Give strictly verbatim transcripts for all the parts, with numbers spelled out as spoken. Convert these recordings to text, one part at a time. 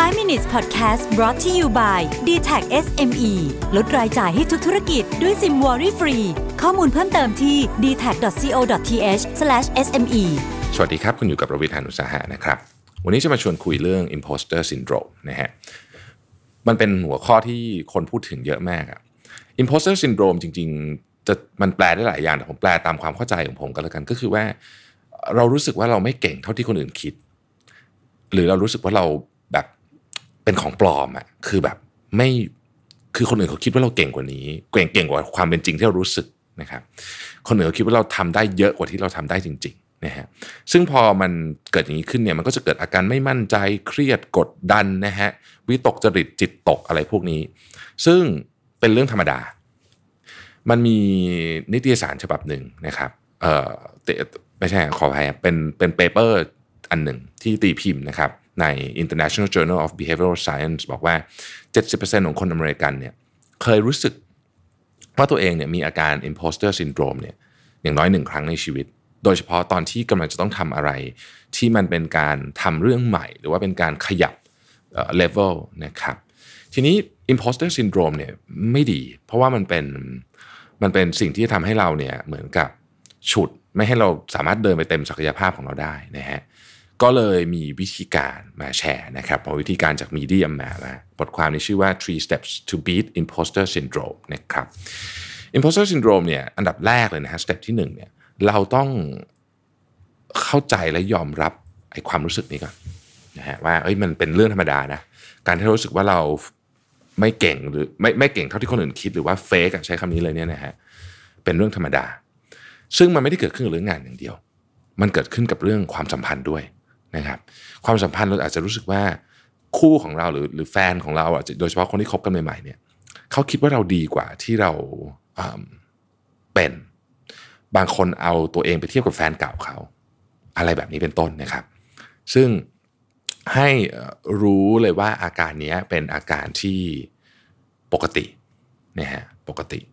ไฟว์ minutes podcast brought to you by ดี ที เอ ซี เอส เอ็ม อี ลดรายจ่ายให้ทุกธุรกิจด้วยซิมวอรี่ฟรีข้อมูลเพิ่มเติมที่ ดี ที เอ ซี ดอท ซี โอ ดอท ที เอช สแลช เอส เอ็ม อีสวัสดีครับคุณอยู่กับรวิทย์ หาญอุตสาหะนะครับวันนี้จะมาชวนคุยเรื่อง imposter syndrome นะฮะมันเป็นหัวข้อที่คนพูดถึงเยอะมากอะ imposter syndrome จริงๆจะมันแปลได้หลายอย่างแต่ผมแปลตามความเข้าใจของผมก็แล้วกันก็คือว่าเรารู้สึกว่าเราไม่เก่งเท่าที่คนอื่นคิดหรือเรารู้สึกว่าเราแบบเป็นของปลอมอะคือแบบไม่คือคนอื่นเขาคิดว่าเราเก่งกว่านี้เก่งเก่งกว่าความเป็นจริงที่เรารู้สึกนะครับคนอื่นเขาคิดว่าเราทำได้เยอะกว่าที่เราทำได้จริงๆนะฮะซึ่งพอมันเกิดอย่างนี้ขึ้นเนี่ยมันก็จะเกิดอาการไม่มั่นใจเครียดกดดันนะฮะวิตกจริตจิตตกอะไรพวกนี้ซึ่งเป็นเรื่องธรรมดามันมีนิตยสารฉบับหนึ่งนะครับเอ่อไม่ใช่ขออภัยเป็นเป็นเปเปอร์อันหนึ่งที่ตีพิมพ์นะครับใน International Journal of Behavioral Science บอกว่า เจ็ดสิบเปอร์เซ็นต์ ของคนอเมริกันเนี่ยเคยรู้สึกว่าตัวเองเนี่ยมีอาการ imposter syndrome เนี่ยอย่างน้อยหนึ่งครั้งในชีวิตโดยเฉพาะตอนที่กำลังจะต้องทำอะไรที่มันเป็นการทำเรื่องใหม่หรือว่าเป็นการขยับเอ่อ level นะครับทีนี้ imposter syndrome เนี่ยไม่ดีเพราะว่ามันเป็นมันเป็นสิ่งที่ทำให้เราเนี่ยเหมือนกับฉุดไม่ให้เราสามารถเดินไปเต็มศักยภาพของเราได้นะฮะก็เลยมีวิธีการมาแชร์นะครับเอาวิธีการจาก Medium มานะบทความนี้ชื่อว่า three steps to beat imposter syndrome นะครับ imposter syndrome เนี่ยอันดับแรกเลยนะฮะ step ที่หนึ่งเนี่ยเราต้องเข้าใจและยอมรับไอ้ความรู้สึกนี้ก่อนนะฮะว่าเอ้ยมันเป็นเรื่องธรรมดานะการที่เรารู้สึกว่าเราไม่เก่งหรือไม่ไม่เก่งเท่าที่คนอื่นคิดหรือว่าเฟกใช้คำนี้เลยเนี่ยนะฮะเป็นเรื่องธรรมดาซึ่งมันไม่ได้เกิดขึ้นกับเรื่องงานอย่างเดียวมันเกิดขึ้นกับเรื่องความสัมพันธ์ด้วยนะครับความสัมพันธ์เราอาจจะรู้สึกว่าคู่ของเราหรือหรือแฟนของเราอ่ะโดยเฉพาะคนที่คบกันใหม่ๆเนี่ยเขาคิดว่าเราดีกว่าที่เราเป็นบางคนเอาตัวเองไปเทียบกับแฟนเก่าเขาอะไรแบบนี้เป็นต้นนะครับซึ่งให้รู้เลยว่าอาการนี้เป็นอาการที่ปกตินะฮะปกติ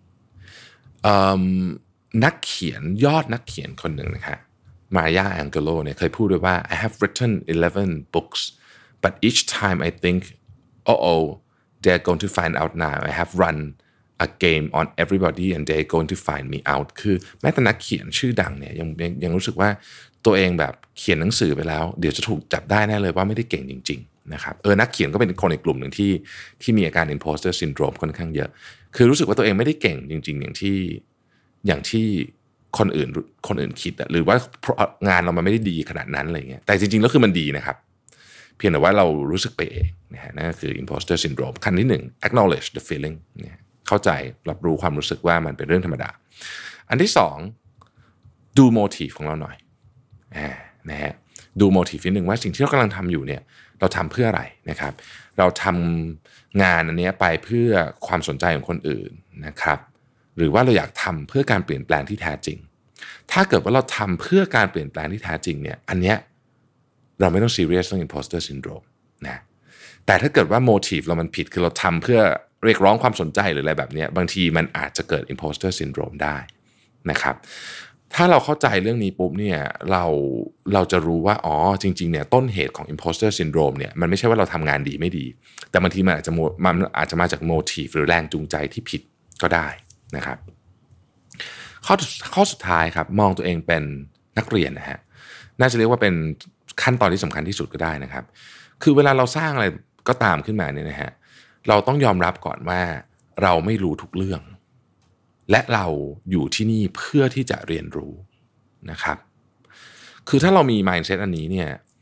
นักเขียนยอดนักเขียนคนหนึ่งนะครับมายาแองเกโลเนี่ยเคยพูดด้วยว่า I have written eleven books but each time I think oh oh they're going to find out now I have run a game on everybody and they're going to find me out คือแม้แต่นักเขียนชื่อดังเนี่ยยังยังยังรู้สึกว่าตัวเองแบบเขียนหนังสือไปแล้วเดี๋ยวจะถูกจับได้แน่เลยว่าไม่ได้เก่งจริงๆนะครับเออนักเขียนก็เป็นคนในกลุ่มหนึ่งที่ที่มีอาการ imposter syndrome ค่อนข้างเยอะคือรู้สึกว่าตัวเองไม่ได้เก่งจริงๆอย่างที่อย่างที่คนอื่นคนอื่นคิดหรือว่างานเรามันไม่ได้ดีขนาดนั้นอะไรเงี้ยแต่จริงๆแล้วคือมันดีนะครับเพียงแต่ว่าเรารู้สึกไปเองนะฮะนั่นก็คือ imposter syndrome ขั้นที่หนึ่ง acknowledge the feeling เนี่ยเข้าใจรับรู้ความรู้สึกว่ามันเป็นเรื่องธรรมดาอันที่สองดู motive ของเราหน่อยนะฮะดู motive นิดนึงว่าสิ่งที่เรากำลังทำอยู่เนี่ยเราทำเพื่ออะไรนะครับเราทำงานอันนี้ไปเพื่อความสนใจของคนอื่นนะครับหรือว่าเราอยากทำเพื่อการเปลี่ยนแปลงที่แท้จริงถ้าเกิดว่าเราทำเพื่อการเปลี่ยนแปลงที่แท้จริงเนี่ยอันเนี้ยเราไม่ต้องซีเรียสเรื่อง imposter syndrome นะแต่ถ้าเกิดว่า motive เรามันผิดคือเราทำเพื่อเรียกร้องความสนใจหรืออะไรแบบนี้บางทีมันอาจจะเกิด imposter syndrome ได้นะครับถ้าเราเข้าใจเรื่องนี้ปุ๊บเนี่ยเราเราจะรู้ว่าอ๋อจริงๆเนี่ยต้นเหตุของ imposter syndrome เนี่ยมันไม่ใช่ว่าเราทำงานดีไม่ดีแต่บางทีมันอาจจะมันอาจจะมาจาก motive หรือแรงจูงใจที่ผิดก็ได้นะครับข้อข้อสุดท้ายครับมองตัวเองเป็นนักเรียนนะฮะน่าจะเรียกว่าเป็นขั้นตอนที่สำคัญที่สุดก็ได้นะครับคือเวลาเราสร้างอะไรก็ตามขึ้นมาเนี่ยนะฮะเราต้องยอมรับก่อนว่าเราไม่รู้ทุกเรื่องและเราอยู่ที่นี่เพื่อที่จะเรียนรู้นะครับคือถ้าเรามี mindset อันนี้เนี่ย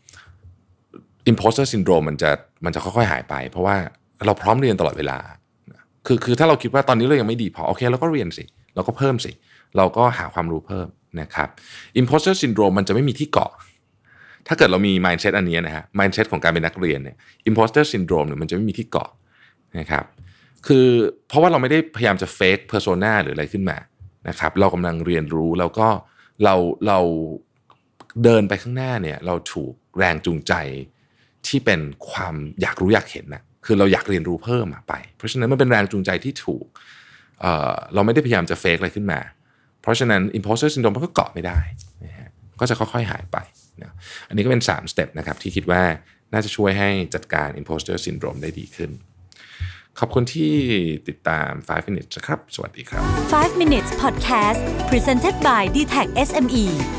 imposter syndrome มันจะมันจะค่อยๆหายไปเพราะว่าเราพร้อมเรียนตลอดเวลาคือคือถ้าเราคิดว่าตอนนี้เรายังไม่ดีพอโอเคเราก็เรียนสิเราก็เพิ่มสิเราก็หาความรู้เพิ่มนะครับ imposter syndrome มันจะไม่มีที่เกาะถ้าเกิดเรามี mindset อันนี้นะฮะ mindset ของการเป็นนักเรียนเนี่ย imposter syndrome เนี่ยมันจะไม่มีที่เกาะนะครับคือเพราะว่าเราไม่ได้พยายามจะ fake persona หรืออะไรขึ้นมานะครับเรากำลังเรียนรู้แล้วก็เราเราเดินไปข้างหน้าเนี่ยเราถูกแรงจูงใจที่เป็นความอยากรู้อยากเห็นนะคือเราอยากเรียนรู้เพิ่มไปเพราะฉะนั้นมันเป็นแรงจูงใจที่ถูก เอ่อเราไม่ได้พยายามจะเฟกอะไรขึ้นมาเพราะฉะนั้น imposter syndrome มันก็เกาะไม่ได้นะฮะก็จะค่อยๆหายไปนะอันนี้ก็เป็นสามสเต็ปนะครับที่คิดว่าน่าจะช่วยให้จัดการ imposter syndrome ได้ดีขึ้นขอบคุณที่ติดตาม five minutes นะครับสวัสดีครับ five minutes podcast presented by ดี ที เอ ซี เอส เอ็ม อี